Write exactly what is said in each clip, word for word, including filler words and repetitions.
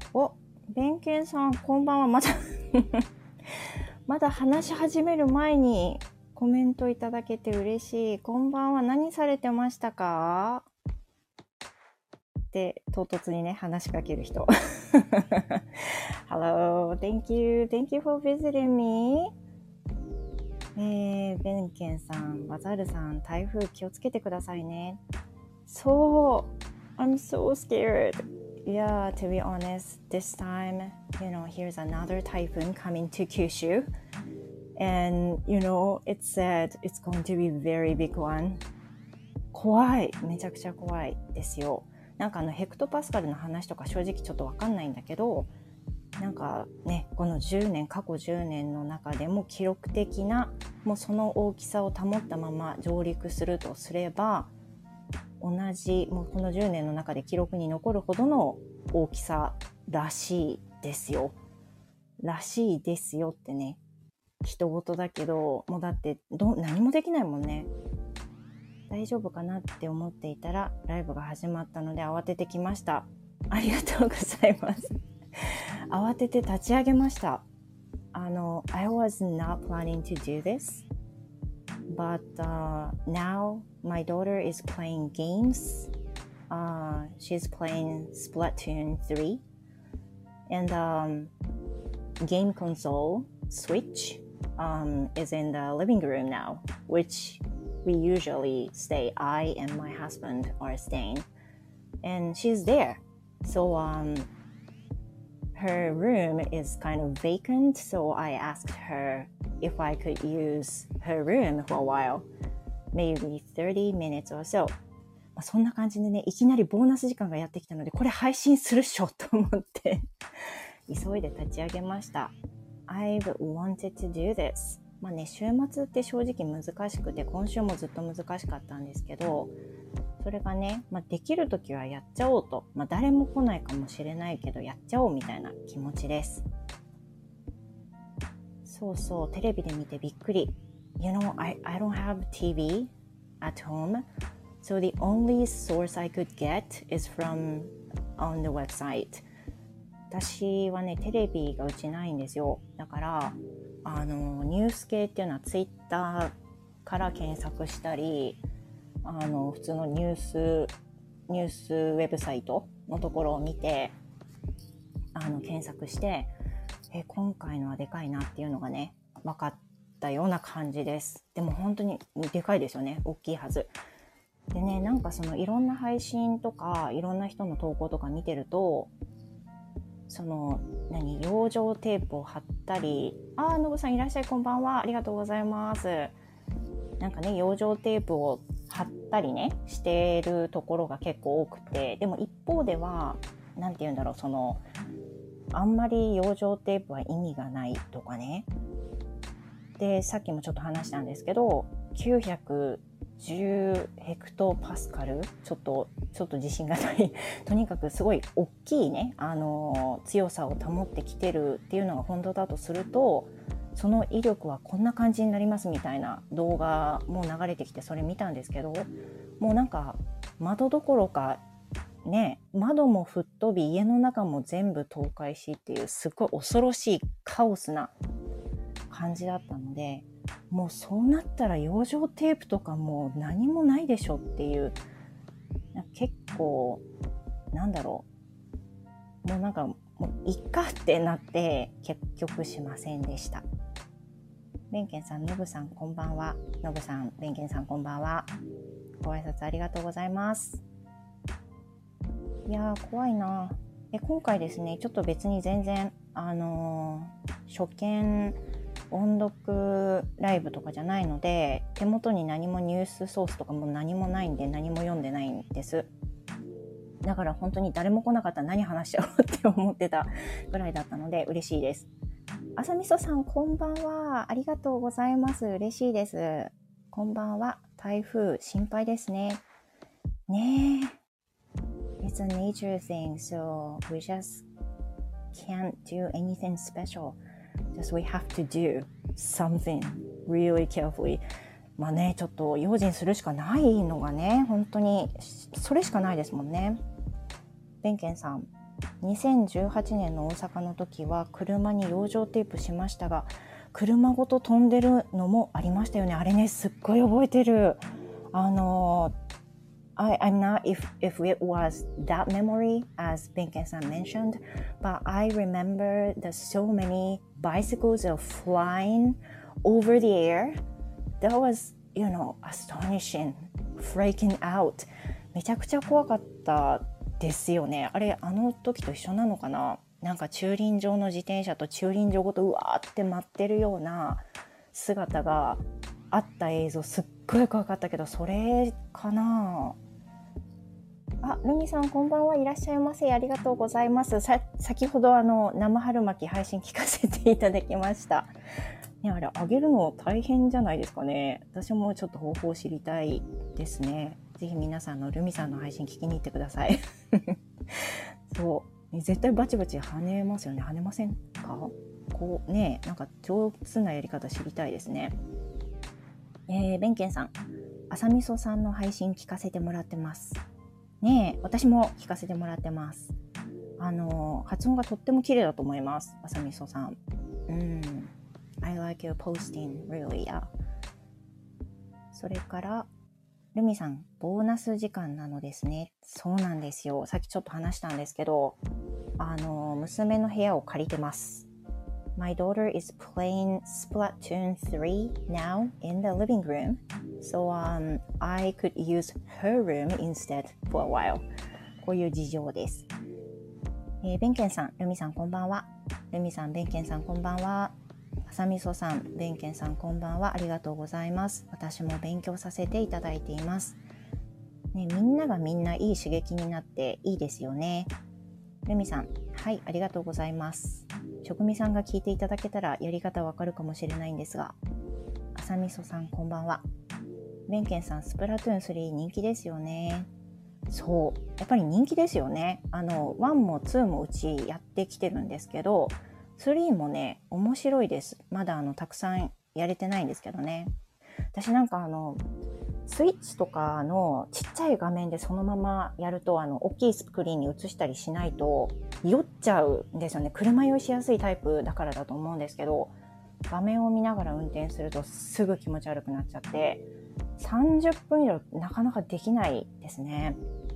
お、弁慶さん、こんばんは。まだまだ話し始める前にコメントいただけて嬉しい。こんばんは。何されてましたかって唐突にね、話しかける人。Hello, thank you, thank you for visiting me. えー、弁慶さん、バザールさん、台風気をつけてくださいね。そう、I'm so scared.Yeah, to be honest, this time, you know, here's another typhoon coming to Kyushu. And, you know, it said it's going to be very big one. 怖い。めちゃくちゃ怖いですよ。なんかあの、ヘクトパスカルの話とか正直ちょっとわかんないんだけど、なんかね、このじゅうねん、過去じゅうねんの中でも記録的な、もうその大きさを保ったまま上陸するとすれば、同じもうこのじゅうねんの中で記録に残るほどの大きさらしいですよ。らしいですよってね、人事だけど、もうだってど何もできないもんね。大丈夫かなって思っていたらライブが始まったので慌ててきました。ありがとうございます。慌てて立ち上げました。あの I was not planning to do this.But uh, now my daughter is playing games. Uh, she's playing Splatoon three. And um, game console Switch um, is in the living room now, which we usually stay. I and my husband are staying. And she's there. So um, her room is kind of vacant. So I asked her,if I could use her room for a while, maybe thirty minutes or so. そんな感じでね、いきなりボーナス時間がやってきたので、これ配信するっしょと思って急いで立ち上げました。I've wanted to do this. まあね、週末って正直難しくて、今週もずっと難しかったんですけど、それがね、まあ、できるときはやっちゃおうと、まあ、誰も来ないかもしれないけど、やっちゃおうみたいな気持ちです。そうそう、テレビで見てびっくり。You know, I, I don't have T V at home, so the only source I could get is from on the website. 私はね、テレビがうちないんですよ。だから、あの、ニュース系っていうのはツイッターから検索したり、あの、普通のニュース、ニュースウェブサイトのところを見て、あの、検索して、え今回のはでかいなっていうのがね分かったような感じです。でも本当にでかいですよね。大きいはずでね。なんかそのいろんな配信とかいろんな人の投稿とか見てると、その何養生テープを貼ったり、あーのぶさんいらっしゃい、こんばんは、ありがとうございます。なんかね養生テープを貼ったりねしているところが結構多くて、でも一方ではなんて言うんだろう、そのあんまり養生テープは意味がないとかね。で、さっきもちょっと話したんですけど、きゅうひゃくじゅうヘクトパスカル、ちょっとちょっと自信がない。とにかくすごい大きいね、あの強さを保ってきてるっていうのが本当だとすると、その威力はこんな感じになりますみたいな動画も流れてきて、それ見たんですけど、もうなんか窓どころかね、窓も吹っ飛び家の中も全部倒壊しっていうすごい恐ろしいカオスな感じだったので、もうそうなったら養生テープとかもう何もないでしょっていう、結構なんだろう、もうなんかもういっかってなって結局しませんでした。ベンケンさん、ノブさんこんばんは。ノブさん、ベンケンさんこんばんは。ご挨拶ありがとうございます。いやー怖いな。え今回ですね、ちょっと別に全然あのー、初見音読ライブとかじゃないので、手元に何もニュースソースとかも何もないんで何も読んでないんです。だから本当に誰も来なかったら何話しちゃおうって思ってたぐらいだったので嬉しいです。あさみそさんこんばんは、ありがとうございます。嬉しいです。こんばんは。台風心配ですね。ねえ。It's a nature thing, so we just can't do anything special. Just we have to do something really carefully. まあね、ちょっと用心するしかないのがね、本当にそれしかないですもんね。ベンケンさん、 にせんじゅうはちねんの大阪の時は車に養生テープしましたが、車ごと飛んでるのもありましたよね。あれね、すっごい覚えてる。あの I, I'm not if, if it was that memory as Benken-san mentioned, but I remember that so many bicycles are flying over the air. That was, you know, astonishing, freaking out. めちゃくちゃ怖かったですよね。あれ、あの時と一緒なのかな。なんか駐輪場の自転車と駐輪場ごとうわーって待ってるような姿があった映像、すっごい怖かったけど、それかな。あ、ルミさんこんばんは、いらっしゃいませ。ありがとうございます。さ先ほどあの生春巻き配信聞かせていただきました。ね、あれあげるの大変じゃないですかね。私もちょっと方法を知りたいですね。ぜひ皆さんのルミさんの配信聞きに行ってください。そう絶対バチバチ跳ねますよね。跳ねませんか？こうね、なんか上手なやり方知りたいですね。えー、ベンケンさん、朝みそさんの配信聞かせてもらってますね。え私も聞かせてもらってます。あの発音がとっても綺麗だと思います、朝みそさん。うん、I like your posting really, yeah. それからルミさん、ボーナス時間なのですね。そうなんですよ。さっきちょっと話したんですけど、あの娘の部屋を借りてます。My daughter is playing Splatoon three now in the living room, so um, I could use her room instead for a while. こういう事情です。えー、ベンケンさん、ルミさんこんばんは。ルミさん、ベンケンさんこんばんは。朝みそさん、ベンケンさんこんばんは。ありがとうございます。私も勉強させていただいています。ね、みんながみんないい刺激になっていいですよね。ルミさん、はい、ありがとうございます。職味さんが聞いていただけたらやり方わかるかもしれないんですが、朝みそさんこんばんは。ベンケンさん、スプラトゥーンスリー人気ですよね。そう、やっぱり人気ですよね。あのワンもツーもうちやってきてるんですけど、スリーもね面白いです。まだあのたくさんやれてないんですけどね。私なんかあのスイッチとかのちっちゃい画面でそのままやると、あの大きいスクリーンに映したりしないと酔っちゃうんですよね。車酔いしやすいタイプだからだと思うんですけど、画面を見ながら運転するとすぐ気持ち悪くなっちゃって、さんじゅっぷん以上なかなかできないですね。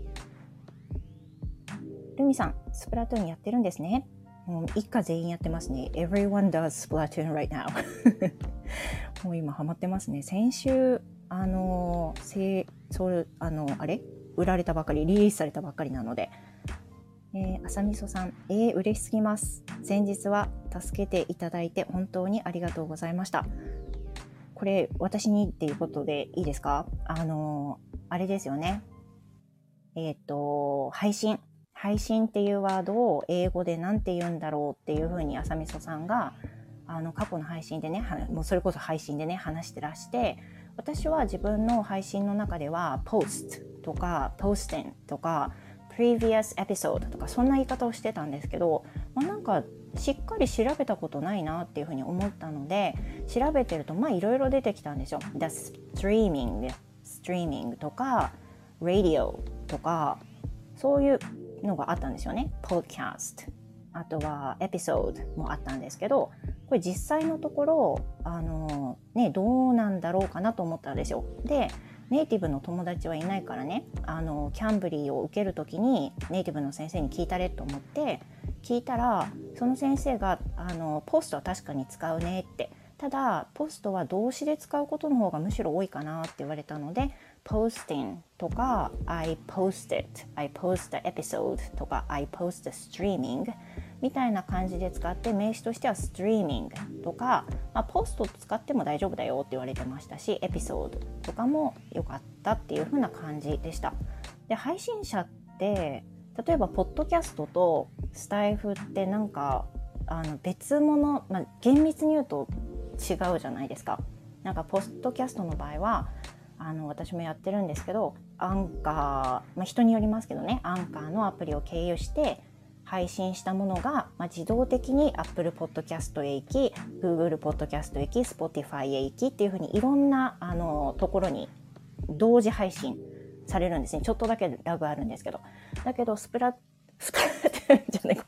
ルミさん、スプラトゥーンやってるんですね。もう一家全員やってますね。Everyone does Splatoon right now もう今ハマってますね。先週あのせそうあのあれ売られたばかり、リリースされたばっかりなので、えー、朝みそさん、えー、嬉しすぎます。先日は助けていただいて本当にありがとうございました。これ私にっていうことでいいですか？あのあれですよね。えっと配信配信っていうワードを英語でなんて言うんだろうっていうふうに朝みそさんがあの過去の配信でね、もうそれこそ配信でね話してらして、私は自分の配信の中では post とか posting とか previous episode とかそんな言い方をしてたんですけど、まあ、なんかしっかり調べたことないなっていうふうに思ったので、調べてるとまあいろいろ出てきたんですよ。The streaming streaming とか radio とかそういうのがあったんですよね。 podcast、 あとはエピソードもあったんですけど、これ実際のところあの、ね、どうなんだろうかなと思ったんですよ。でネイティブの友達はいないからね、あのキャンブリーを受けるときにネイティブの先生に聞いたれと思って聞いたら、その先生があのポストは確かに使うねって、ただポストは動詞で使うことの方がむしろ多いかなって言われたので、 posting とか I posted I post the episode とか I post the streaming みたいな感じで使って、名詞としては streaming とか、まあ、ポスト使っても大丈夫だよって言われてましたし、エピソードとかも良かったっていう風な感じでした。で配信者って例えばポッドキャストとスタイフってなんかあの別物、まあ、厳密に言うと違うじゃないですか。なんかポッドキャストの場合はあの私もやってるんですけど、アンカー、まあ、人によりますけどね、アンカーのアプリを経由して配信したものが、まあ、自動的に Apple Podcast へ行き、 Google Podcast へ行き、 Spotify へ行きっていう風にいろんなあのところに同時配信されるんですね。ちょっとだけラグあるんですけど、だけどスプラスプラトゥーンじゃない、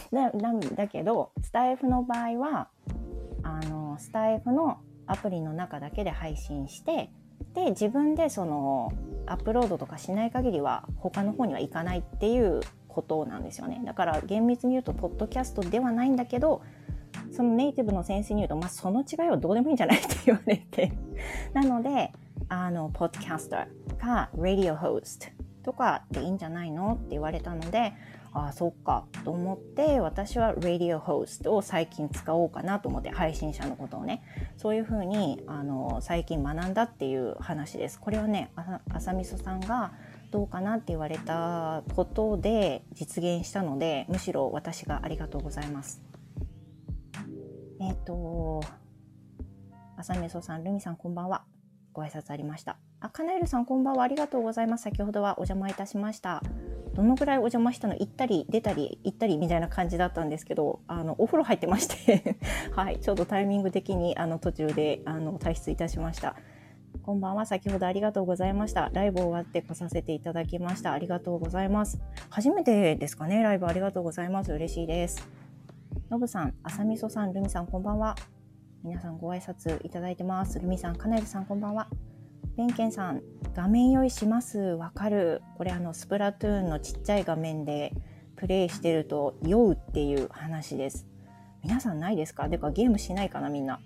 だ, なんだけどスタイフの場合はあのスタイフのアプリの中だけで配信して、で自分でそのアップロードとかしない限りは他の方には行かないっていうことなんですよね。だから厳密に言うとポッドキャストではないんだけど、そのネイティブの先生に言うと、まあ、その違いはどうでもいいんじゃないって言われてなのであのポッドキャスターかラディオホストとかでいいんじゃないのって言われたので、ああそっかと思って、私はラディオホストを最近使おうかなと思って、配信者のことをね、そういう風にあの最近学んだっていう話です。これはね、あさみそさんがどうかなって言われたことで実現したので、むしろ私がありがとうございます。えっとあさみそさん、ルミさんこんばんは。ご挨拶ありました。あ、カナエルさんこんばんは、ありがとうございます。先ほどはお邪魔いたしました。どのぐらいお邪魔したの、行ったり出たり行ったりみたいな感じだったんですけど、あのお風呂入ってましてはい、ちょうどタイミング的にあの途中であの退出いたしました。こんばんは、先ほどありがとうございました。ライブ終わって来させていただきました。ありがとうございます。初めてですかね、ライブ。ありがとうございます。嬉しいです。のぶさん、あさみそさん、ルミさんこんばんは。皆さんご挨拶いただいてます。ルミさん、カナエルさんこんばんは。ベンケンさん、画面用意します。わかる。これあのスプラトゥーンのちっちゃい画面でプレイしてると酔うっていう話です。皆さんないですか？でかゲームしないかなみんな。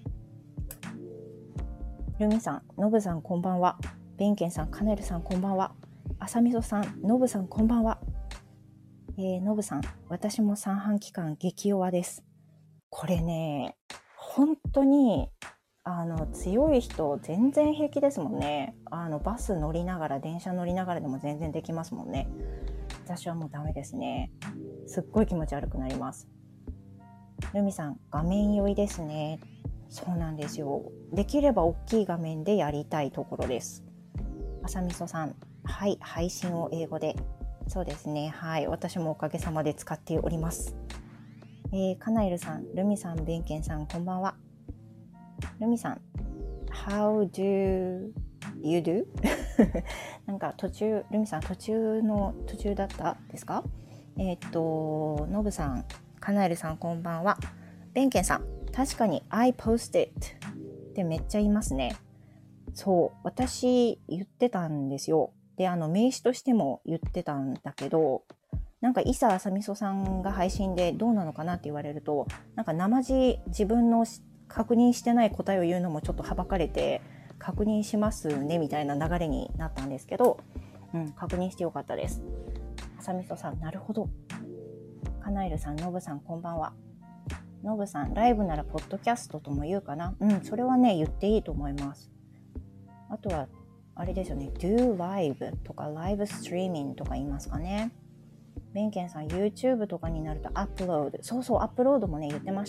ルミさん、ノブさんこんばんは。ベンケンさん、カネルさんこんばんは。あさみそさん、ノブさんこんばんは。えー、ノブさん、私も三半規管激弱です。これね、本当にあの強い人全然平気ですもんね。あのバス乗りながら電車乗りながらでも全然できますもんね。私はもうダメですね。すっごい気持ち悪くなります。ルミさん、画面酔いですね。そうなんですよ。できれば大きい画面でやりたいところです。あさみそさん、はい、配信を英語で。そうですね、はい、私もおかげさまで使っております。えー、カナエルさん、ルミさん、ベンケンさんこんばんは。ルミさん、How do you do? なんか途中、ルミさん途中の途中だったですか？えっと、ノブさん、カナエルさんこんばんは。ベンケンさん、確かに I post it ってめっちゃ言いますね。そう、私言ってたんですよ。で、あの名詞としても言ってたんだけど、なんかいさあさみそさんが配信でどうなのかなって言われると、なんか生地自分の確認してない答えを言うのもちょっとはばかれて、確認しますねみたいな流れになったんですけど、うん、確認してよかったです。あさみそさん、なるほど。カナエルさん、ノブさんこんばんは。ノブさん、ライブならポッドキャストとも言うかな。うん、それはね言っていいと思います。あとはあれですよね、do live とか live streaming とか言いますかね。ベンケンさん、 YouTube とかになるとアップロード、そうそう、アップロードもね言ってました。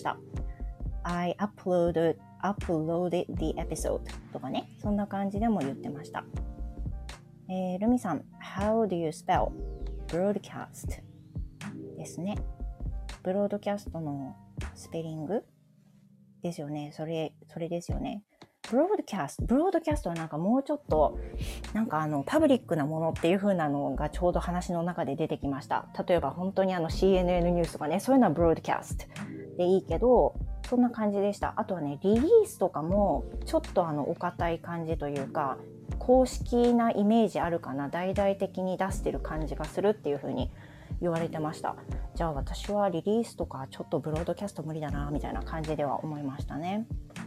I uploaded uploaded the episode とかね、そんな感じでも言ってました。えー、ルミさん、 How do you spell broadcast ですね。ブロードキャストのスペリングですよね。それそれですよね。ブロードキャスト、ブロードキャストはなんかもうちょっとなんかあのパブリックなものっていう風なのがちょうど話の中で出てきました。例えば本当にあの シーエヌエヌ ニュースとかね、そういうのはブロードキャストでいいけど、そんな感じでした。あとはね、リリースとかもちょっとあのお堅い感じというか、公式なイメージあるかな、大々的に出してる感じがするっていう風に言われてました。じゃあ私はリリースとかちょっとブロードキャスト無理だなみたいな感じでは思いましたね。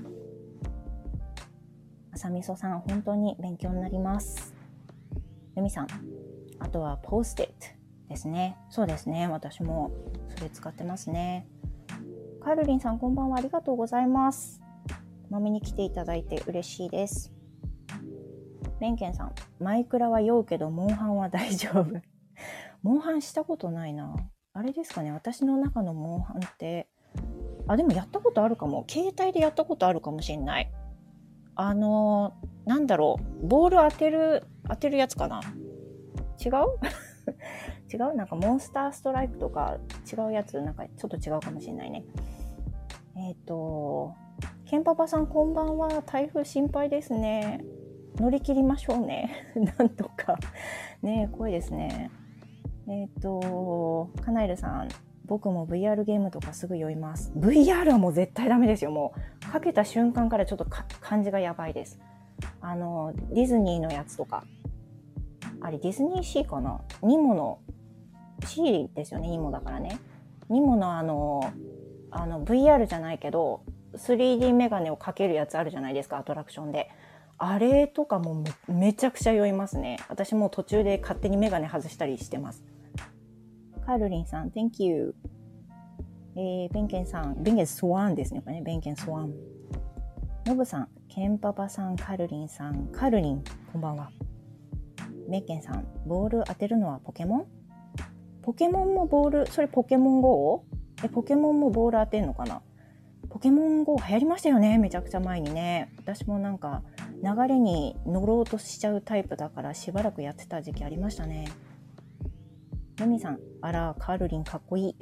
あさみそさん、本当に勉強になります。ゆみさん、あとはポストイットですね。そうですね、私もそれ使ってますね。カールリンさん、こんばんは、ありがとうございます。まめに来ていただいて嬉しいです。ベンケンさん、マイクラは酔うけどモンハンは大丈夫。モンハンしたことないな。あれですかね、私の中のモンハンって、あ、でもやったことあるかも。携帯でやったことあるかもしれない。あのー、なんだろう、ボール当てる当てるやつかな。違う違う、なんかモンスターストライクとか違うやつ、なんかちょっと違うかもしれないね。えっとケンパパさん、こんばんは。台風心配ですね。乗り切りましょうねなんとかね、怖いですね。えっとカナエルさん、 僕も ブイアール ゲームとかすぐ酔います。 ブイアール はもう絶対ダメですよ。もうかけた瞬間からちょっとか感じがやばいです。あのディズニーのやつとか、あれディズニーシーかな、ニモの C ですよね、ニモだからね。ニモのあのあの ブイアール じゃないけど スリーディー メガネをかけるやつあるじゃないですか、アトラクションで。あれとかも め, めちゃくちゃ酔いますね。私もう途中で勝手にメガネ外したりしてます。カールリンさん Thank you。 えー、ベンケンさん、ベンケンスワンですね、これね、ベンケンスワン。ノブさん、ケンパパさん、カルリンさん、カルリンこんばんは。ベンケンさん、ボール当てるのはポケモン？ポケモンもボール、それポケモン ゴー？ え、ポケモンもボール当てんのかな。ポケモン ゴー 流行りましたよね、めちゃくちゃ前にね。私もなんか流れに乗ろうとしちゃうタイプだからしばらくやってた時期ありましたね。ルミさん、あら、カールリンかっこいい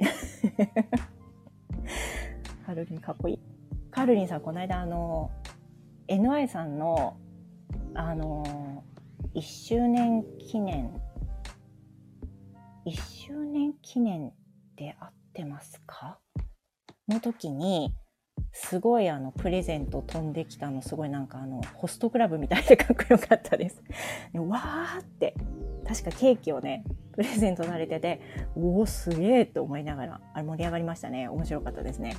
カールリンかっこいい。カールリンさん、この間あの エヌアイ さんのあのいっしゅうねん記念いっしゅうねん記念で合ってますかの時にすごいあのプレゼント飛んできたの、すごいなんかあのホストクラブみたいでかっこよかったです。わーって確かケーキをねプレゼントされてて、おおすげーって思いながら、あれ盛り上がりましたね。面白かったですね。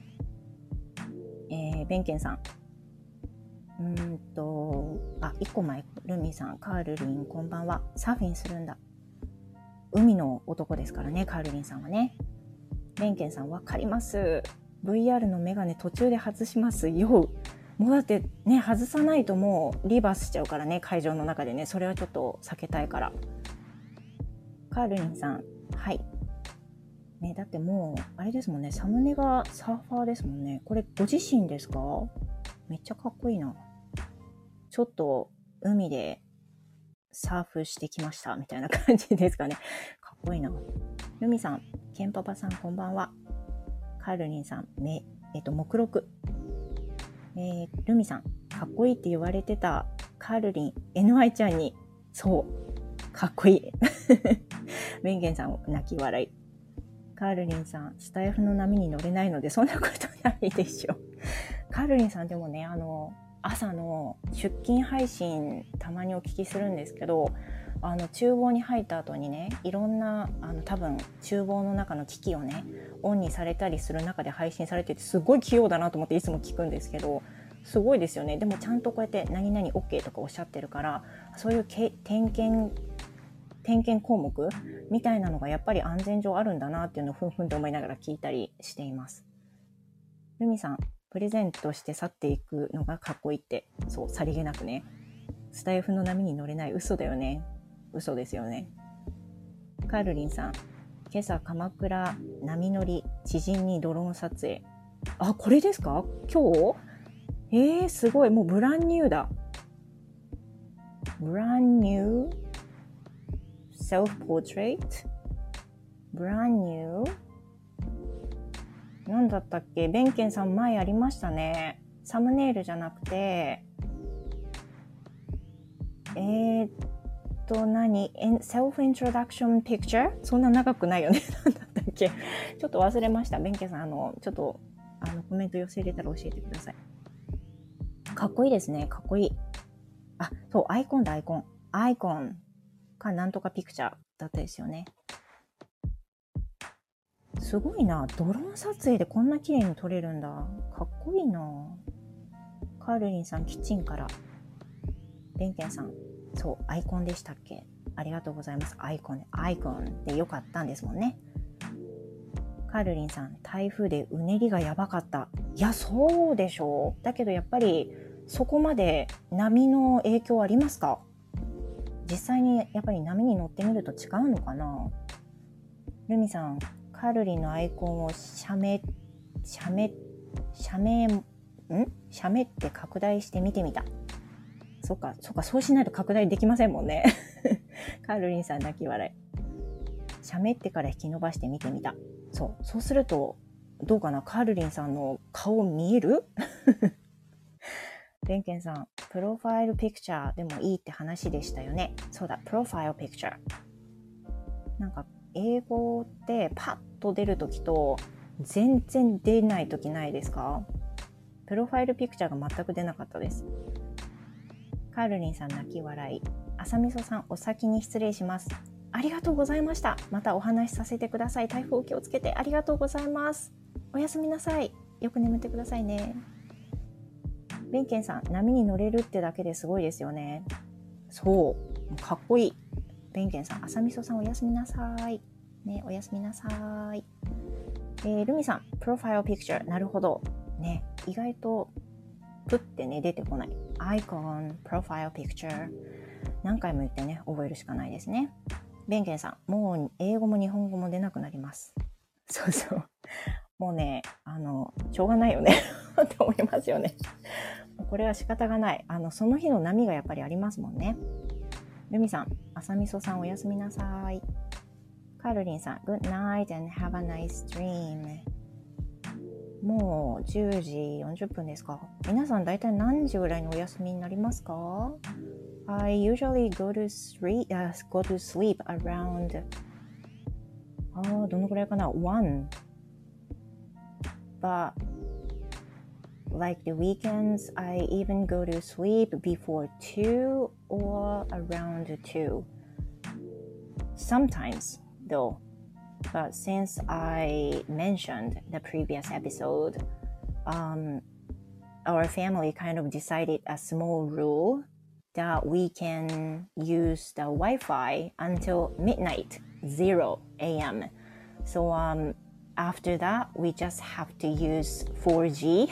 えー、ベンケンさん、うーんとあいっこまえ、ルミさん、カールリンこんばんは。サーフィンするんだ。海の男ですからね、カールリンさんはね。ベンケンさん、わかります。 ブイアール のメガネ途中で外しますよ。もうだってね、外さないともうリバースしちゃうからね、会場の中でね。それはちょっと避けたいから。カールリンさん、はいね、だってもうあれですもんね、サムネがサーファーですもんね。これご自身ですか？めっちゃかっこいいな。ちょっと海でサーフしてきましたみたいな感じですかね。かっこいいな。ルミさん、ケンパパさんこんばんは。カールリンさん、めえっと目録。えー、ルミさん、かっこいいって言われてたカールリン エヌアイ ちゃんに、そうかっこいい。ベンゲンさん、泣き笑い。カールリンさん、スタイフの波に乗れないのでそんなことないでしょ。カールリンさん、でもね、あの朝の出勤配信たまにお聞きするんですけど、あの厨房に入った後にね、いろんなあの多分厨房の中の機器をねオンにされたりする中で配信されてて、すごい器用だなと思っていつも聞くんですけど、すごいですよね。でもちゃんとこうやって何々 OK とかおっしゃってるから、そういうけ点検点検項目みたいなのがやっぱり安全上あるんだなっていうのをふんふんと思いながら聞いたりしています。ルミさん、プレゼントして去っていくのがかっこいいって、そう、さりげなくね。スタイフの波に乗れない、嘘だよね。嘘ですよね。カールリンさん、今朝鎌倉波乗り知人にドローン撮影。あ、これですか？今日？えー、すごい。もうブランニューだ。ブランニューセルフポートレート？ブランニューなんだったっけ？ベンケンさん前ありましたね。サムネイルじゃなくて、えーっと何？セルフイントロダクションピクチャー？そんな長くないよね。なんだったっけ？ちょっと忘れました。ベンケンさん、あのちょっとあのコメント寄せ入れたら教えてください。かっこいいですね。かっこいい。あ、そう、アイコンだ、アイコン。アイコンかなんとかピクチャーだったですよね。すごいな。ドローン撮影でこんな綺麗に撮れるんだ。かっこいいな。カールリンさん、キッチンから。ベンケンさん、そう、アイコンでしたっけ？ありがとうございます。アイコン、アイコンでよかったんですもんね。カールリンさん、台風でうねりがやばかった。いや、そうでしょう。だけどやっぱりそこまで波の影響ありますか？実際にやっぱり波に乗ってみると違うのかな。ルミさん、カールリンのアイコンを写メ写メ写メん写メって拡大して見てみた。そっかそっか、そうしないと拡大できませんもんね。カールリンさん泣き笑い。写メってから引き伸ばして見てみた。そうそうするとどうかな。カールリンさんの顔見える？ベンケンさん、プロファイルピクチャーでもいいって話でしたよね。そうだ、プロファイルピクチャー。なんか英語ってパッと出るときと全然出ないときないですか？プロファイルピクチャーが全く出なかったです。カールリンさん泣き笑い。朝みそさんお先に失礼します。ありがとうございました。またお話しさせてください。台風お気をつけてありがとうございます。おやすみなさい。よく眠ってくださいね。ベンケンさん、波に乗れるってだけですごいですよね。そう、かっこいい。ベンケンさん、朝みそさんおやすみなさい。ね、おやすみなさい。えー、ルミさん、プロファイルピクチャー、なるほど。ね、意外とプってね、出てこない。アイコン、プロファイルピクチャー。何回も言ってね、覚えるしかないですね。ベンケンさん、もう英語も日本語も出なくなります。そうそう。もうね、あの、しょうがないよね。って思いますよね。これは仕方がない。あの、その日の波がやっぱりありますもんね。ルミさん、朝みそさんおやすみなさい。カールリンさん、Good night and have a nice dream。もうじゅうじよんじゅっぷんですか。皆さん大体何時ぐらいにお休みになりますか？ I usually go to sleep,、uh, go to sleep around あーどのくらいかな one but like the weekends I even go to sleep before two or around two sometimes though. But since I mentioned the previous episode, um, our family kind of decided a small rule that we can use the Wi-Fi until midnight, zero a.m. So um, after that, we just have to use four G.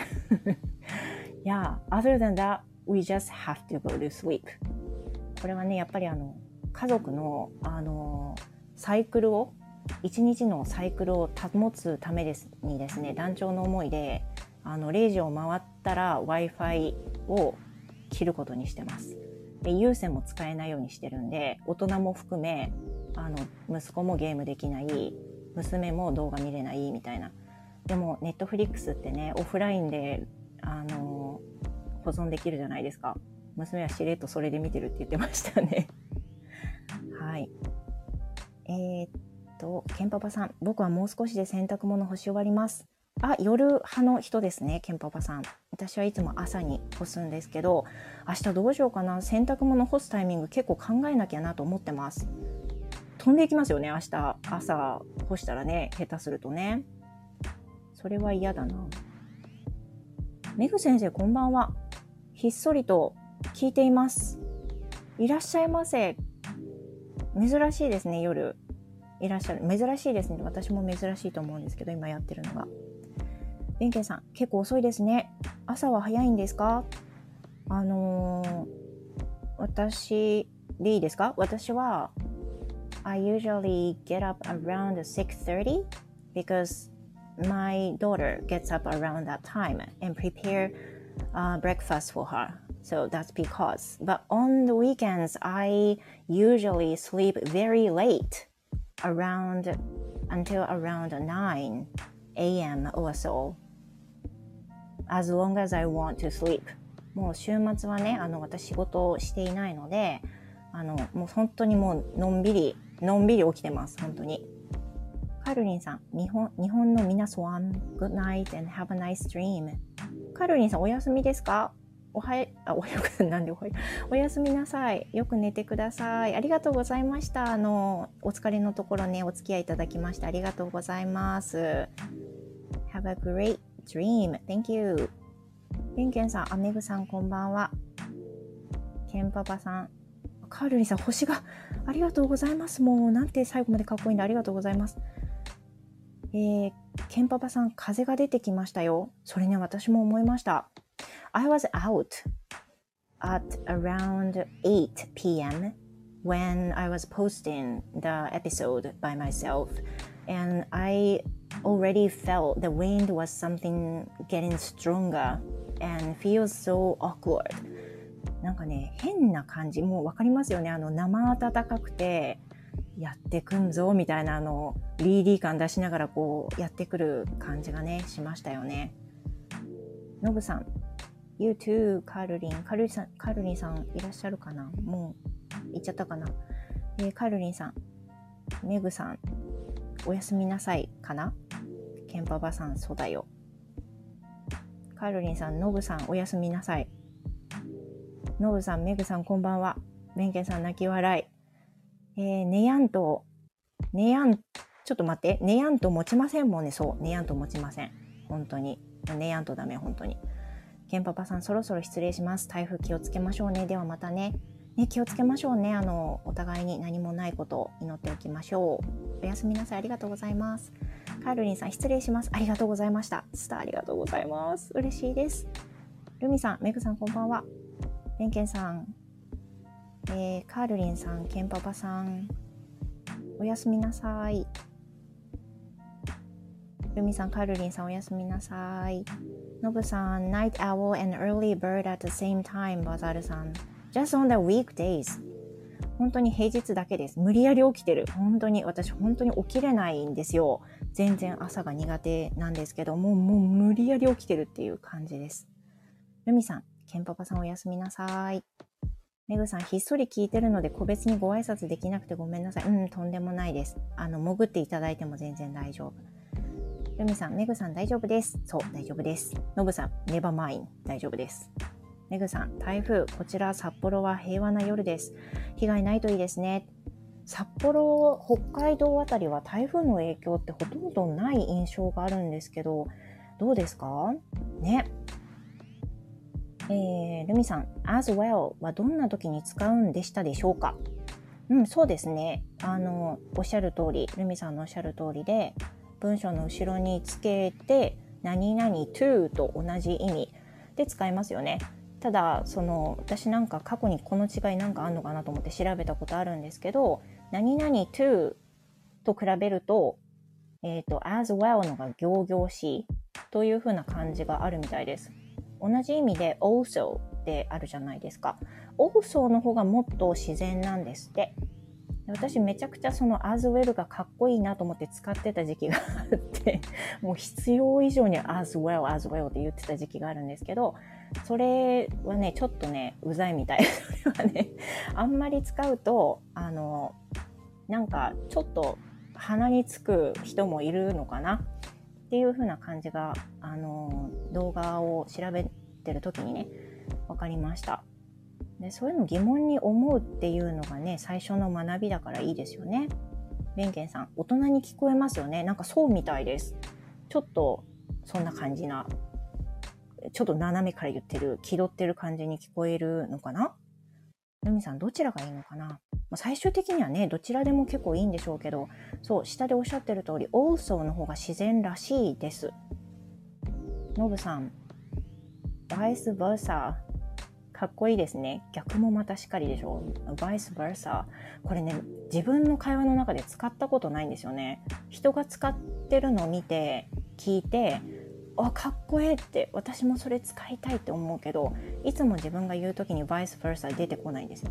Yeah, other than that, we just have to go to sleep. これはね、やっぱりあの家族のあのサイクルを一日のサイクルを保つためですにですね、断腸の思いであのれいじを回ったら Wi-Fi を切ることにしてます。で、有線も使えないようにしてるんで、大人も含めあの息子もゲームできない、娘も動画見れないみたいな。でも Netflix ってね、オフラインであの保存できるじゃないですか。娘はしれっとそれで見てるって言ってましたね。はい。えーとケンパパさん、僕はもう少しで洗濯物干し終わります。あ、夜派の人ですね、ケンパパさん。私はいつも朝に干すんですけど、明日どうしようかな。洗濯物干すタイミング結構考えなきゃなと思ってます。飛んでいきますよね、明日朝干したらね、下手するとね。それは嫌だな。メグ先生、こんばんは。ひっそりと聞いています。いらっしゃいませ。珍しいですね、夜いらっしゃる。珍しいですね。私も珍しいと思うんですけど、今やってるのが。ベンケンさん、結構遅いですね。朝は早いんですか？あのー、私でいいですか？私は I usually get up around six thirty because my daughter gets up around that time and prepare、uh, breakfast for her. So that's because. But on the weekends, I usually sleep very late.Around until around nine a.m. or so, as long as I want to sleep. もう週末はね、あの私仕事をしていないので、あのもう本当にもうのんびりのんびり起きてます。本当に。カルリンさん、日本日本の皆さん、Good night and have a nice dream. カルリンさん、お休みですか？おはや、あ、おはよう、なんでおはよう。おやすみなさい。よく寝てください。ありがとうございました。あの、お疲れのところね、お付き合いいただきましてありがとうございます。Have a great dream. Thank you. ベンケンさん、アメグさん、こんばんは。ケンパパさん、カールリンさん、星がありがとうございます。もう、なんて最後までかっこいいんでありがとうございます。えー、ケンパパさん、風が出てきましたよ。それね、私も思いました。I was out at around eight p.m. when I was posting the episode by myself, and I already felt the wind was something getting stronger and feels so awkward. なんかね、変な感じ、もうわかりますよね。あの生暖かくてやってくんぞみたいなあのリーディー感出しながらこうやってくる感じがねしましたよね。ノブさん。You too, カルリン。カルリンさん、カルリンさんいらっしゃるかな？もう行っちゃったかな？えー、カルリンさん、メグさん、 おやすみなさいかな。ケンパパさん、そうだよ。カールリンさん、ノブさん、おやすみなさい。ノブさん、メグさん、こんばんは。ベンケンさん、泣き笑い。えー、ネヤンと、ネヤン、ちょっと待って、ネヤンと持ちませんもんね。そう、ネヤンと持ちません。本当に。ネヤンとダメ、本当に。ケンパパさん、そろそろ失礼します。台風気をつけましょうね。ではまたね。ね、気をつけましょうね。あの、お互いに何もないことを祈っておきましょう。おやすみなさい。ありがとうございます。カールリンさん、失礼します。ありがとうございました。スターありがとうございます。嬉しいです。ルミさん、メグさん、こんばんは。ベンケンさん、えー、カールリンさん、ケンパパさん、おやすみなさい。ルミさん、カールリンさん、おやすみなさい。ノブさん、Night Owl and Early Bird at the same time。バザールさん、Just on the weekdays。本当に平日だけです。無理やり起きてる。本当に、私本当に起きれないんですよ。全然朝が苦手なんですけども、もう無理やり起きてるっていう感じです。ルミさん、ケンパパさんおやすみなさい。メグさん、ひっそり聞いてるので個別にご挨拶できなくてごめんなさい。うん、とんでもないです。あの、潜っていただいても全然大丈夫。ルミさん、メグさん大丈夫です。そう、大丈夫です。ノブさん、ネバーマイン、大丈夫です。メグさん、台風、こちら札幌は平和な夜です。被害ないといいですね。札幌、北海道あたりは台風の影響ってほとんどない印象があるんですけど、どうですかね。えー、ルミさん、as well はどんな時に使うんでしたでしょうか。うん、そうですね。あの、おっしゃる通り、ルミさんのおっしゃる通りで、文章の後ろにつけて、何々 to と同じ意味で使いますよね。ただ、その、私なんか過去にこの違いなんかあんのかなと思って調べたことあるんですけど、何々 to と比べると、えっと、as well のが仰々しいという風な感じがあるみたいです。同じ意味で also ってあるじゃないですか。also の方がもっと自然なんですって。私めちゃくちゃその as well がかっこいいなと思って使ってた時期があってもう必要以上に as well as well って言ってた時期があるんですけど、それはねちょっとねうざいみたい。それはねあんまり使うとあのなんかちょっと鼻につく人もいるのかなっていう風な感じがあの動画を調べてる時にね分かりました。でそういうの疑問に思うっていうのがね最初の学びだからいいですよね。ベンケンさん、大人に聞こえますよね。なんかそうみたいです。ちょっとそんな感じな、ちょっと斜めから言ってる気取ってる感じに聞こえるのかな。ルミさん、どちらがいいのかな。まあ、最終的にはねどちらでも結構いいんでしょうけど、そう下でおっしゃってる通り also の方が自然らしいです。ノブさん、vice versaかっこいいですね。逆もまたしっかりでしょ。vice versa。これね、自分の会話の中で使ったことないんですよね。人が使ってるのを見て、聞いて、あ、かっこええって、私もそれ使いたいって思うけど、いつも自分が言うときに vice versa 出てこないんですよ。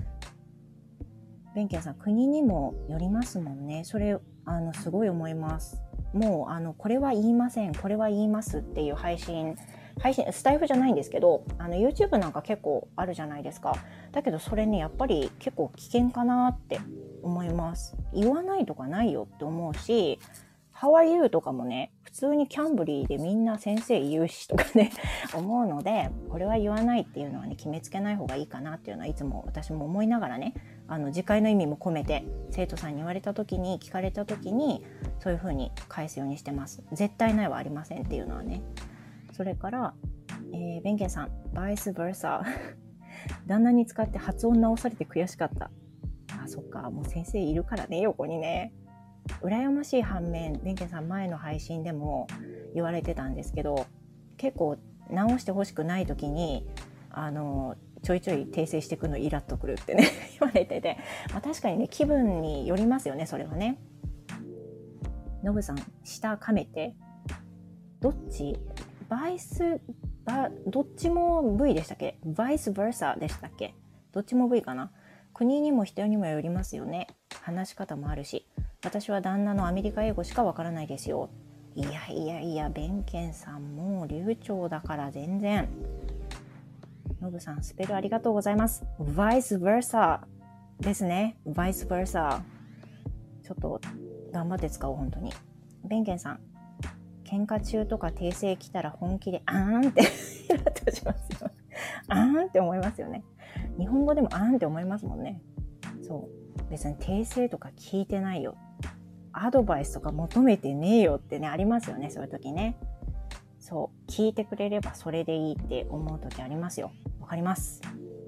ベンケンさん、国にもよりますもんね。それ、あの、すごい思います。もう、あの、これは言いません、これは言いますっていう配信、配信スタイフじゃないんですけど、あの YouTube なんか結構あるじゃないですか。だけどそれねやっぱり結構危険かなって思います。言わないとかないよって思うし、How are you とかもね普通にキャンブリーでみんな先生言うしとかね思うので、これは言わないっていうのはね決めつけない方がいいかなっていうのはいつも私も思いながらね、あの次回の意味も込めて生徒さんに言われた時に聞かれた時にそういう風に返すようにしてます。絶対ないはありませんっていうのはね。それから、えー、ベンケンさん、バイスバーサ旦那に使って発音直されて悔しかった。あ、そっか、もう先生いるからね、横にね。羨ましい反面、ベンケンさん前の配信でも言われてたんですけど、結構直してほしくない時にあのちょいちょい訂正していくのイラッとくるってね言われてて、まあ、確かにね気分によりますよね、それはね。ノブさん、下かめてどっちバイスバどっちも V でしたっけ、バイスバーサでしたっけ、どっちも V かな。国にも人にもよりますよね。話し方もあるし、私は旦那のアメリカ英語しかわからないですよ。いやいやいや、ベンケンさんも流暢だから全然。ノブさん、スペルありがとうございます。バイスバーサですね。バイスバーサ。ちょっと頑張って使おう、本当に。ベンケンさん、喧嘩中とか訂正来たら本気であーんってイラッとしますよ。あーんって思いますよね。日本語でもあーんって思いますもんね。そう。別に訂正とか聞いてないよ。アドバイスとか求めてねえよってね、ありますよね、そういう時ね。そう。聞いてくれればそれでいいって思う時ありますよ。わかります。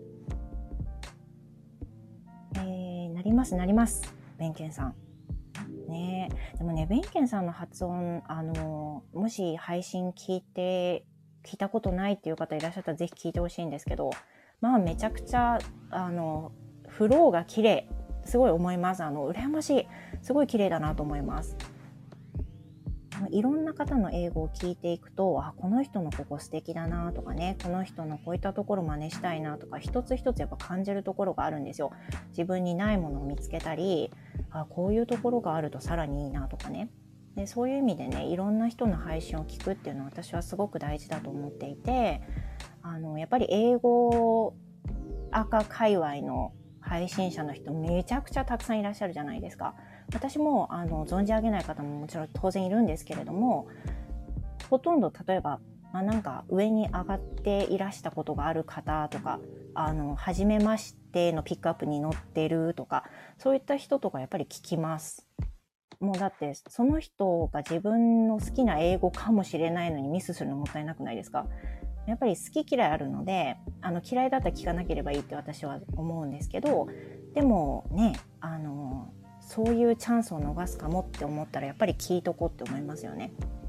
えー、なります、なります。ベンケンさん。ねえ。でもね、ベンケンさんの発音、あの、もし配信聞いて、聞いたことないっていう方いらっしゃったらぜひ聞いてほしいんですけど、まあめちゃくちゃ、あの、フローが綺麗。すごい思います。あの、羨ましい。すごい綺麗だなと思います。いろんな方の英語を聞いていくと、あ、この人のここ素敵だなとかね、この人のこういったところ真似したいなとか、一つ一つやっぱ感じるところがあるんですよ。自分にないものを見つけたり、あ、こういうところがあるとさらにいいなとかね。で、そういう意味でね、いろんな人の配信を聞くっていうのは私はすごく大事だと思っていて、あのやっぱり英語赤界隈の配信者の人めちゃくちゃたくさんいらっしゃるじゃないですか。私もあの存じ上げない方ももちろん当然いるんですけれども、ほとんど例えば、まあ、なんか上に上がっていらしたことがある方とか、あの初めましてのピックアップに載ってるとか、そういった人とかやっぱり聞きます。もうだってその人が自分の好きな英語かもしれないのにミスするのもったいなくないですか。やっぱり好き嫌いあるので、あの嫌いだったら聞かなければいいって私は思うんですけど、でもね、あのそういうチャンスを逃すかもって思ったらやっぱり聞いとこうって思いますよね。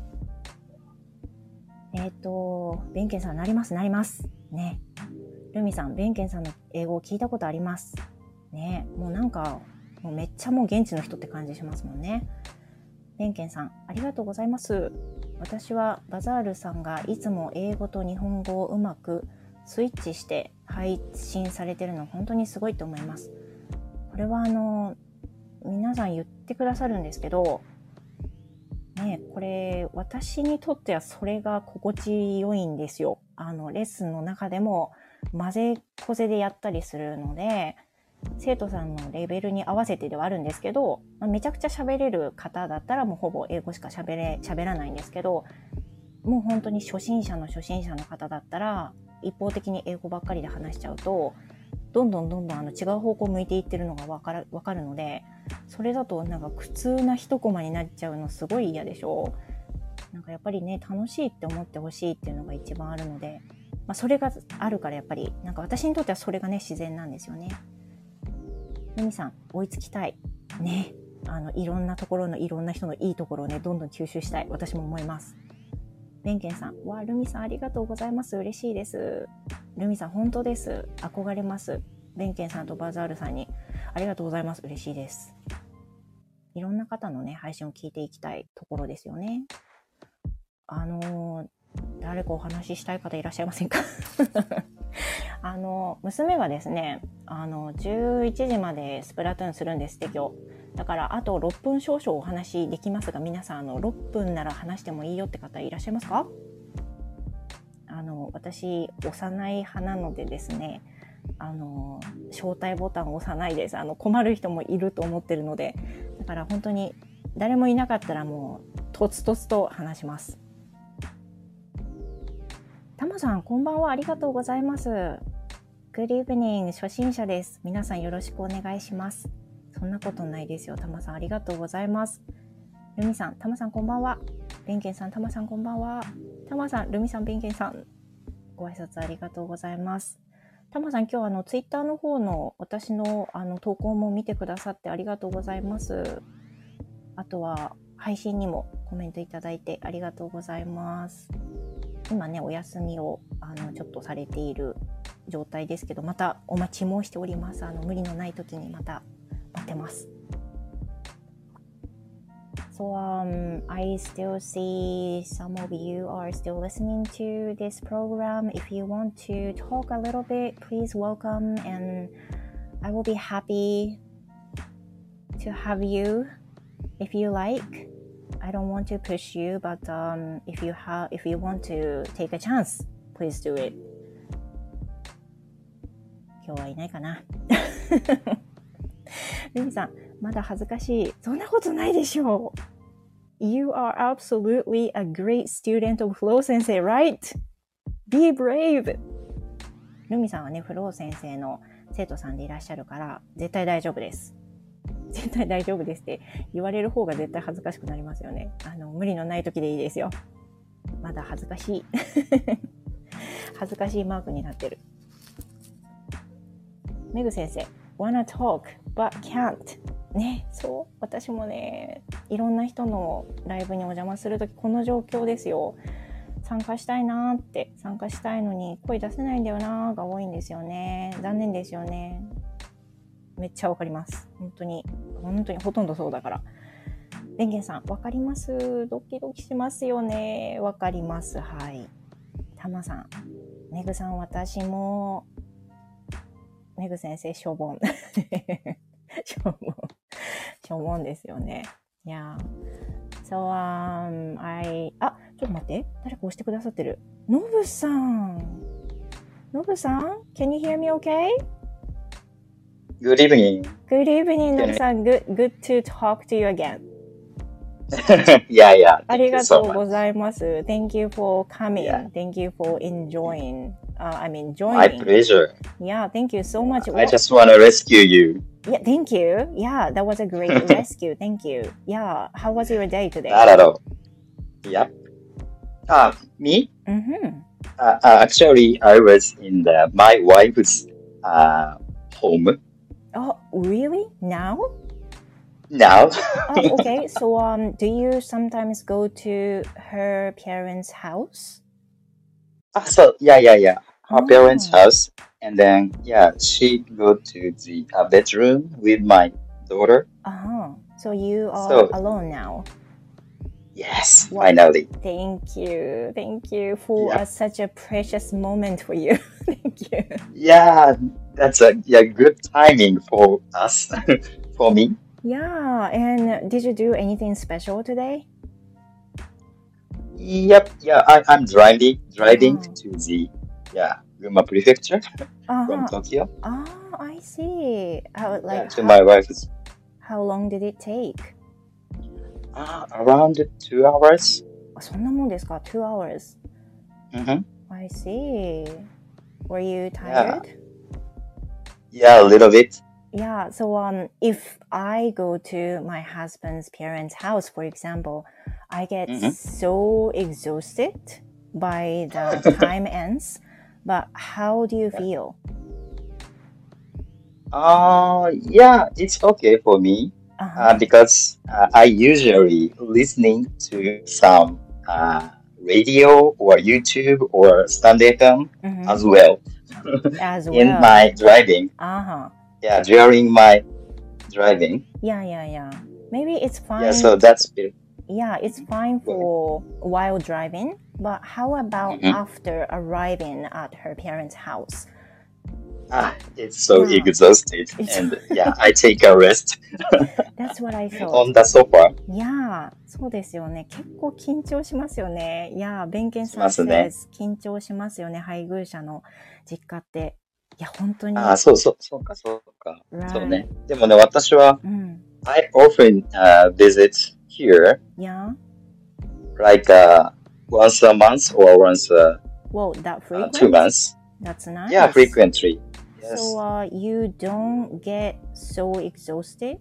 えっと、ベンケンさん、なりますなりますね。ルミさん、ベンケンさんの英語を聞いたことありますね。もうなんかもうめっちゃもう現地の人って感じしますもんね。ベンケンさん、ありがとうございます。私はバザールさんがいつも英語と日本語をうまくスイッチして配信されているの本当にすごいと思います。これはあの皆さん言ってくださるんですけどね、これ私にとってはそれが心地よいんですよ。あのレッスンの中でも混ぜこぜでやったりするので、生徒さんのレベルに合わせてではあるんですけど、まあ、めちゃくちゃ喋れる方だったらもうほぼ英語しか喋れ喋らないんですけど、もう本当に初心者の初心者の方だったら一方的に英語ばっかりで話しちゃうと、どんどんどんどんあの違う方向向いていってるのが分かる、分かるので、それだとなんか苦痛な一コマになっちゃうのすごい嫌でしょ。なんかやっぱりね、楽しいって思ってほしいっていうのが一番あるので、まあ、それがあるからやっぱりなんか私にとってはそれがね自然なんですよね。ルミさん、追いつきたいね。あのいろんなところのいろんな人のいいところをねどんどん吸収したい、私も思います。ベンケンさん、わあ、ルミさんありがとうございます。嬉しいです。ルミさん本当です。憧れます。ベンケンさんとバザールさんにありがとうございます。嬉しいです。いろんな方のね配信を聞いていきたいところですよね。あの誰かお話ししたい方いらっしゃいませんかあの娘がですね、あのじゅういちじまでスプラトゥーンするんですって今日。だからあとろっぷん少々お話できますが、皆さんあのろっぷんなら話してもいいよって方いらっしゃいますか？あの私幼い派なのでですね、あの招待ボタンを押さないです。あの困る人もいると思ってるので、だから本当に誰もいなかったらもうとつとつと話します。タマさんこんばんは、ありがとうございます。Good evening、初心者です。皆さんよろしくお願いします。そんなことないですよ。タマさんありがとうございます。ルミさん、タマさんこんばんは。ベンケンさん、タマさんこんばんは。タマさん、ルミさん、ベンケンさん、ご挨拶ありがとうございます。タマさん、今日あのツイッターの方の私のあの投稿も見てくださってありがとうございます。あとは配信にもコメントいただいてありがとうございます。今ねお休みをあのちょっとされている状態ですけど、またお待ちもしております。あの無理のない時にまた待ってます。So um, I still see some of you are still listening to this program. If you want to talk a little bit, please welcome, and I will be happy to have you if you like. I don't want to push you, but um, if you have, if you want to take a chance, please do it. 今日はいないかなルミさん、まだ恥ずかしい。そんなことないでしょう。You are absolutely a great student of Flo 先生, right? Be brave! ルミさんはね、フロー先生の生徒さんでいらっしゃるから、絶対大丈夫です。絶対大丈夫ですって言われる方が絶対恥ずかしくなりますよね。あの、無理のない時でいいですよ。まだ恥ずかしい。恥ずかしいマークになってる。メグ先生、wanna talk but can't。ね、そう。私もね、いろんな人のライブにお邪魔するとき、この状況ですよ。参加したいなーって、参加したいのに声出せないんだよなーが多いんですよね。残念ですよね。めっちゃわかります。本当に、本当にほとんどそうだから。レンゲンさん、わかります。ドキドキしますよね。わかります。はい。タマさん、メグさん、私も、メグ先生、しょぼん。しょぼん。しょぼんですよね。いや。So, um, I... あ、ちょっと待って。誰か押してくださってる。ノブさん。ノブさん Can you hear me okay? Good evening. Good evening, ノブさん。Good, good to talk to you again. yeah, yeah. ありがとうございます。Thank you for coming. Yeah. Thank you for enjoying.Uh, I mean, joining. My pleasure. Yeah, thank you so much. I just want to rescue you. Yeah, thank you. Yeah, that was a great rescue. Thank you. Yeah, how was your day today? Not at all. Yep. Uh, me? Mm-hmm. Uh, uh, actually, I was in the, my wife's uh, home. Oh, really? Now? Now. Oh, okay. So, um, do you sometimes go to her parents' house? Ah, so, yeah, yeah, yeah. Her oh. parents' house. And then, yeah, she go to the uh, bedroom with my daughter. Uh-huh. So you are so, alone now? Yes, well, finally. Thank you. Thank you for yeah. a, such a precious moment for you. Thank you. Yeah, that's a yeah, good timing for us, for me. Yeah, and did you do anything special today? Yep, yeah, I, I'm driving, driving uh-huh. to the, yeah, Gunma Prefecture uh-huh. from Tokyo. Ah, I see. How, like, yeah, to how, my wife's. How long did it take? Uh, around two hours. そんなもんですか? Two hours. Mm-hmm. I see. Were you tired? Yeah, yeah a little bit. Yeah, so um, if I go to my husband's parents' house, for example, I get mm-hmm. so exhausted by the time ends. But how do you feel? Uh, yeah, it's okay for me uh-huh. uh, because uh, I usually listening to some uh, radio or YouTube or stand F M mm-hmm. as well. As well. In my driving. Uh-huh. Yeah, during my driving. Yeah, yeah, yeah. Maybe it's fine. Yeah, so that's it. Yeah, it's fine for while driving. But how about mm-hmm. after arriving at her parents' house? Ah, it's so yeah. exhausted. And yeah, I take a rest. That's what I thought. On the sofa. Yeah, そうですよね。結構緊張しますよね。Yeah, 弁慶さん says 緊張しますよね。配偶者の実家って。いや、本当に。 あ、そうそう、そうか、そうか。Right. そうね。でもね、私は、うん、I often、uh, visit here. Yeah. Like, uh, once a month or once a Whoa, that frequent? Uh, two months. That's nice. Yeah, frequently. Yes. So uh, you don't get so exhausted?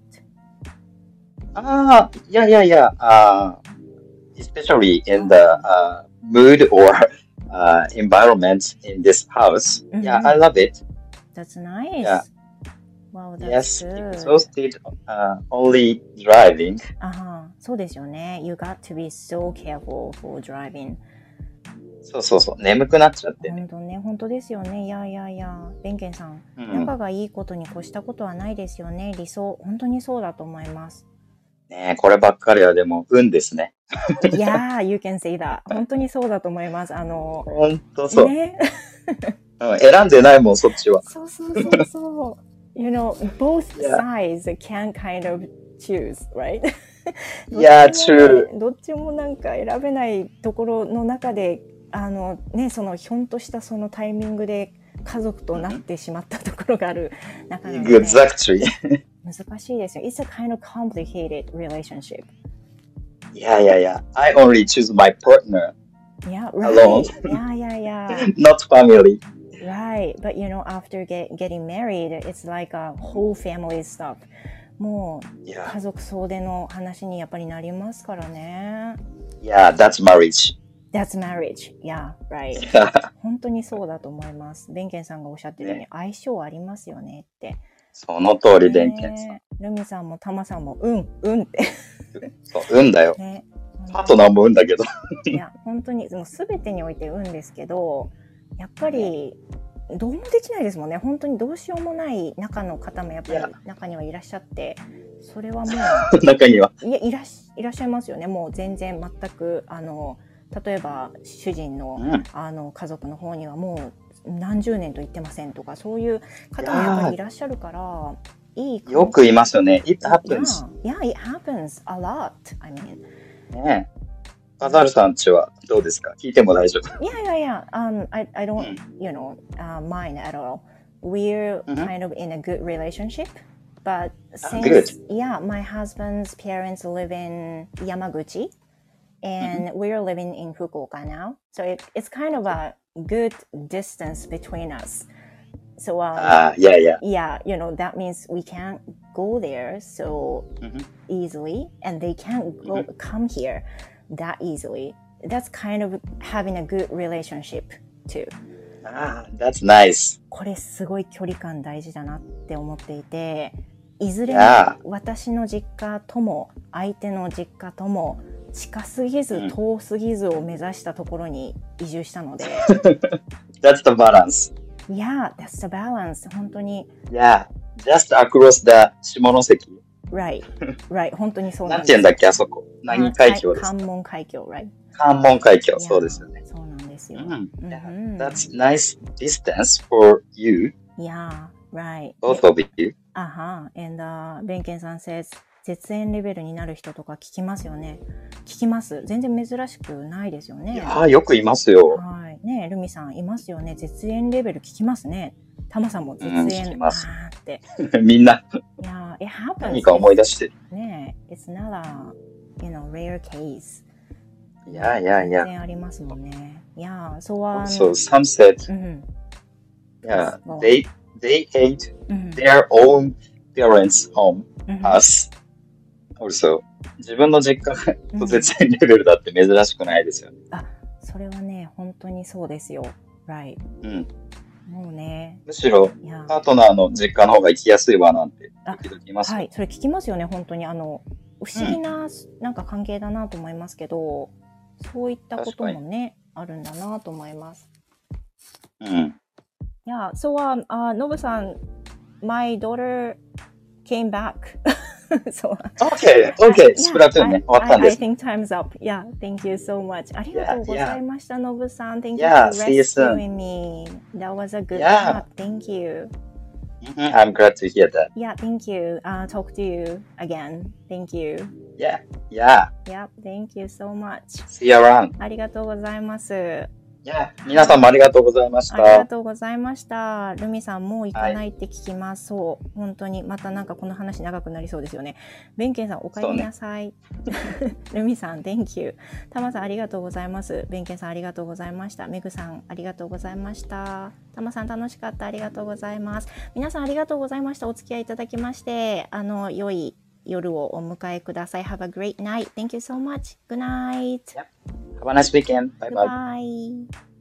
Ah, uh, yeah, yeah, yeah. Uh, especially in the uh, mood or uh, environment in this house. Mm-hmm. Yeah, I love it. That's nice. Yeah. Wow, that's yes, good. Exhausted uh, only driving. あは、そうですよね。You got to be so careful for driving. そうそうそう。眠くなっちゃって、ね。 本当ね、本当ですよね。いやいやいや、ベンケンさん、うん、仲がいいことに越したことはないですよね。理想、本当にそうだと思います。 ねえ、こればっかりはでも運ですね。 いやー、you can say that. 本当にそうだと思います。あの、 本当そう。 ね、 うん、選んでないもん、そっちは。 そうそうそうそう。You know, both sides can kind of choose, right? Yeah, true. どっちもなんか選べないところの中で、あのね、そのひょんとしたそのタイミングで家族となってしまったところがある中なので。 Exactly. 難しいですよ。It's a kind of complicated relationship. Yeah, yeah, yeah. I only choose my partner Yeah, alone, right. Yeah, yeah, yeah. not family. Right. But you know, after get, getting married, it's like a whole family stuff. もう Yeah, 家族総出の話にやっぱりなりますからね。 yeah, that's marriage. That's marriage. Yeah, right. 本当にそうだと思います。ベンケンさんがおっしゃってるようにね、 相性ありますよねって。 その通り、ベンケンさん。 ねえ、ルミさんもタマさんもうんうんってそう、運だよ。 ね、 パートナーも運だけど。 いや本当にもう全てにおいて運ですけど、やっぱりどうもできないですもんね。本当にどうしようもない中の方もやっぱり中にはいらっしゃって、それはもう中にはいやいらっしいらっしゃいますよね。もう全然全くあの例えば主人の、 うん、 あの家族の方にはもう何十年と言ってませんとか、そういう方もやっぱりいらっしゃるから、いいよく言いますよね。It happens. Yeah, yeah, it happens a lot. I mean. ねえ。カザールさんちはどうですか？聞いても大丈夫。 Yeah, yeah, yeah. Um, I, I don't, you know, uh, mind at all. We're Mhm. kind of in a good relationship, but Ah, since, good. yeah, my husband's parents live in Yamaguchi, and we're living in Fukuoka now, so it, it's kind of a good distance between us. So, um, Ah, yeah, yeah. yeah, you know, that means we can't go there so Mhm. easily, and they can't go come here that easily. That's kind of having a good relationship too. Ah, that's nice. これすごい距離感大事だなって思っていて、いずれ Yeah. 私の実家とも相手の実家とも近すぎずうん遠すぎずを目指したところに移住したので、 That's the balance. Yeah, that's the balance. 本当に Yeah. Just across the 下関。 Right, right. 本当にそうななんんです。 て言うんだっけ、あそこ。何海峡ですか？ 関門海峡、right? 関門海峡。 Yeah, そうですよね。 そうなんですよ。 うん。 うん Yeah. That's nice distance for you, Yeah, right. both of you. あは。And, uh, ベンケンさん says 絶縁レベルになる人とか聞きますよね。聞きます。全然珍しくないですよいね。 やー、よくいますよ。 はい。ねえ、ルミさんいますよね。絶縁レベル聞きますね。タマさんも絶うん聞縁、 きますあーって。 みんな、 いやー、it happens. 何か思い出してる。 ねえ、it's not a, you know, rare case. いやいやいや。 全然ありますもんね。いやー、そうは。 Also, some said, うん。 yeah, Yes, they, they hate うん。 their own parents' home, うん。 us. Also, 自分の実家うんと絶縁レベルだって珍しくないですよね。 あ、それはね、本当にそうですよ。Right. うん。 もうね、 むしろ、 いやパートナーの実家の方が行きやすいわなんて、時々言いますよ。 はい、それ聞きますよね、本当に。あの、不思議な、なんか関係だなと思いますけど、そういったこともね、あるんだなと思います。 うん。 Yeah, so, um, uh, Nobu さん、my daughter came back. so, OK, OK, スプラトゥーンね、終わったん I, で I す。 think time's up. Yeah, thank you so much. ありがとうございました、ノブさん。Thank you Yeah, for see you soon. rescuing me. That was a good Yeah. chat. Thank you. Mhm, I'm glad to hear that. Yeah, thank you. Uh, talk to you again. Thank you. Yeah, yeah. Yeah, thank you so much. See you around. ありがとうございます。 Yeah, 皆さんもありがとうございましありがた。 とうございました。ルミさんもう行かないって聞きます。そう。本当にまたなんかこの話長くなりそうですよね。ベンケンさんお帰りなさい。ルミさん Thank you。タマさんありがとうございます。ベンケンさんありがとうございました。メグさんありがとうございました。タマさん楽しかった。ありがとうございます。皆さんありがとうございました。お付き合いいただきまして、あの良い夜をお迎えください。Have a great night. Thank you so much. Good night. Have a nice weekend. Bye bye. Bye.